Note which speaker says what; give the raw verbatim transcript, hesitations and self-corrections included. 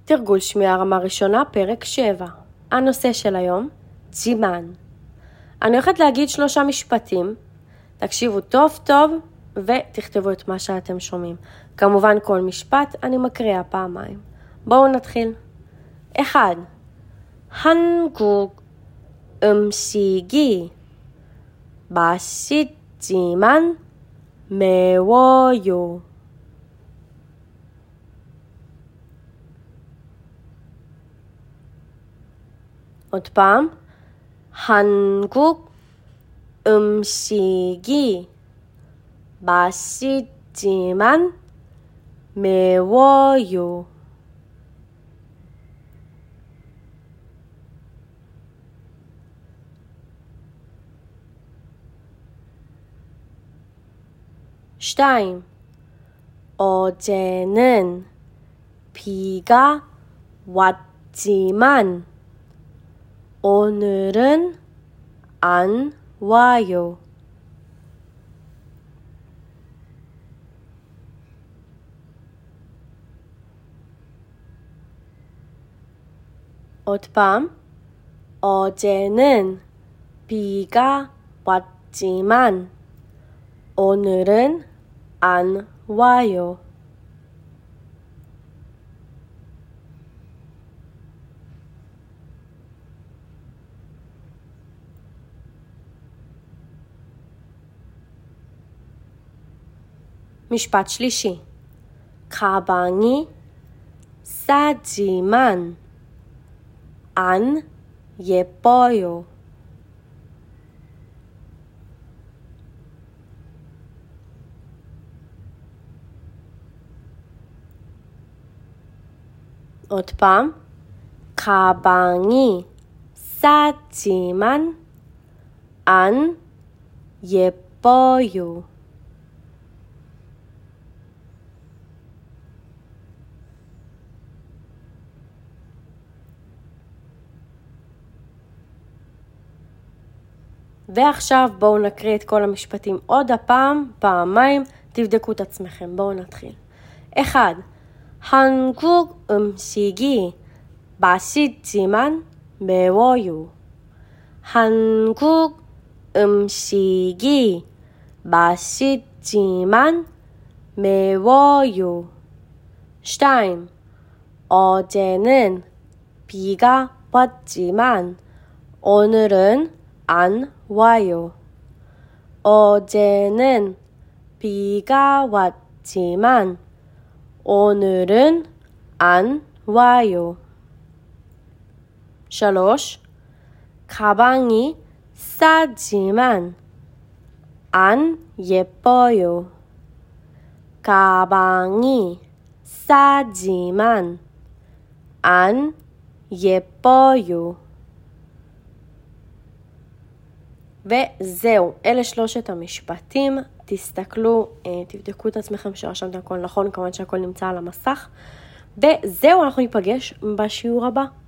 Speaker 1: תרגול שמיעה רמה ראשונה, פרק שבע. הנושא של היום, ג'ימן. אני הולכת להגיד שלושה משפטים, תקשיבו טוב טוב ותכתבו את מה שאתם שומעים. כמובן כל משפט אני מקריאה פעמיים. בואו נתחיל. אחד. 한국 음식이 맛있지만 매워요. עוד פעם, 한국 음식이 맛있지만 매워요. שתיים. 어제는 비가 왔지만 오늘은 안 와요. עוד פעם, 어제는 비가 왔지만 오늘은 안 와요. משפט שלישי. 가방이 싸지만 안 예뻐요. עוד פעם. 가방이 싸지만 안 예뻐요. ועכשיו בואו נקריא את כל המשפטים עוד הפעם, פעמיים, תבדקו את עצמכם. בואו נתחיל. אחד. 한국 음식이 맛있지만 매워요. 한국 음식이 맛있지만 매워요. שתיים. 어제는 비가 왔지만 오늘은 안 와요. 어제는 비가 왔지만 오늘은 안 와요. שלוש. 가방이 싸지만 안 예뻐요. 가방이 싸지만 안 예뻐요. וזהו, אלה שלושת המשפטים. תסתכלו, תבדקו את עצמכם שרשמתם הכל נכון, כמובן שהכל נמצא על המסך. וזהו, אנחנו ניפגש בשיעור הבא.